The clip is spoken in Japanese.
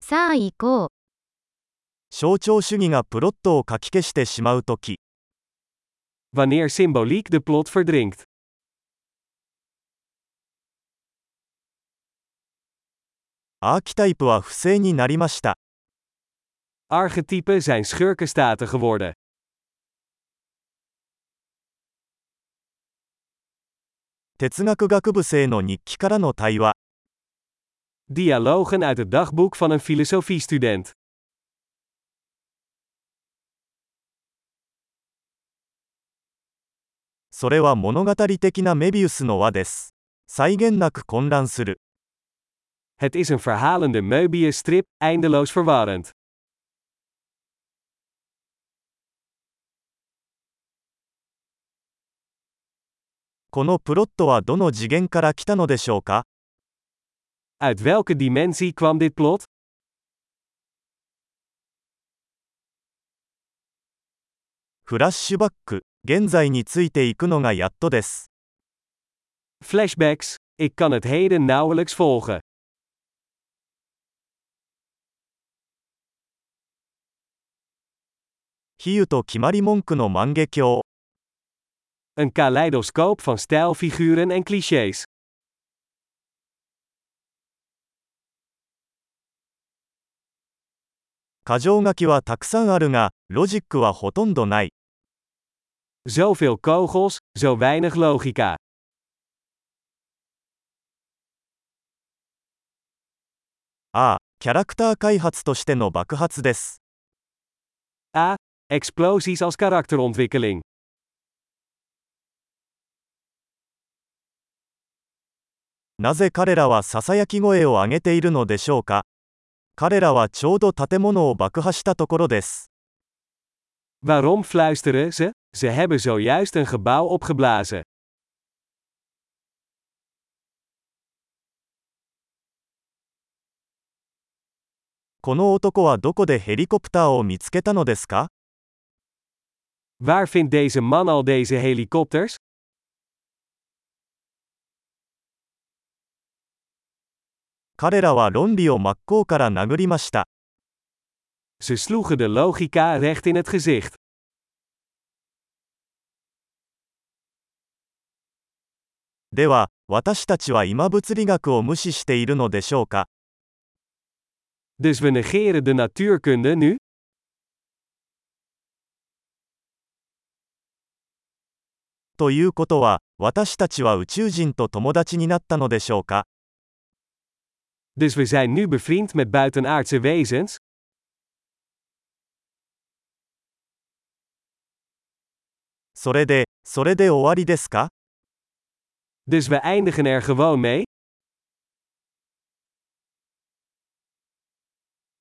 さあ行こう。 象徴主義がプロットをかき消してしまうとき、 Wanneer symboliek de plot verdrinkt. アーキタイプは不正になりました。 Archetypen zijn schurkenstaten geworden. 哲学学部生の日記からの対話。 Dialogen uit het dagboek van een filosofiestudent. それは物語的なメビウスの輪です。際限なく混乱する。 Het is een verhalende Möbius-strip, eindeloos verwarrend. このプロットはどの次元から来たのでしょうか？ Uit welke dimensie kwam dit plot? フラッシュバック、現在についていくのがやっとです。 Flashbacks, ik kan het heden nauwelijks volgen. 比喩と決まり文句の万華鏡。 Een kaleidoscoop van stijlfiguren en clichés. 箇条書きはたくさんあるが、ロジックはほとんどない。 Zoveel kogels, zo weinig logica. ああ、キャラクター開発としての爆発です。 A. Explosies als karakterontwikkeling. なぜ彼らはささやき声を上げているのでしょうか？彼らはちょうど建物を爆破したところです。 Waarom fluisteren ze? Ze hebben zojuist een gebouw opgeblazen. この男はどこでヘリコプターを見つけたのですか？ Waar vindt deze man al deze helikopters? 彼らは論理を真っ向から殴りました。 Ze sloegen de logica recht in het gezicht. では、私たちは今物理学を無視しているのでしょうか？ Dus we negeren de natuurkunde nu? ということは、私たちは宇宙人と友達になったのでしょうか？ Dus we zijn nu bevriend met buitenaardse wezens? それで終わりですか？ Dus we eindigen er gewoon mee?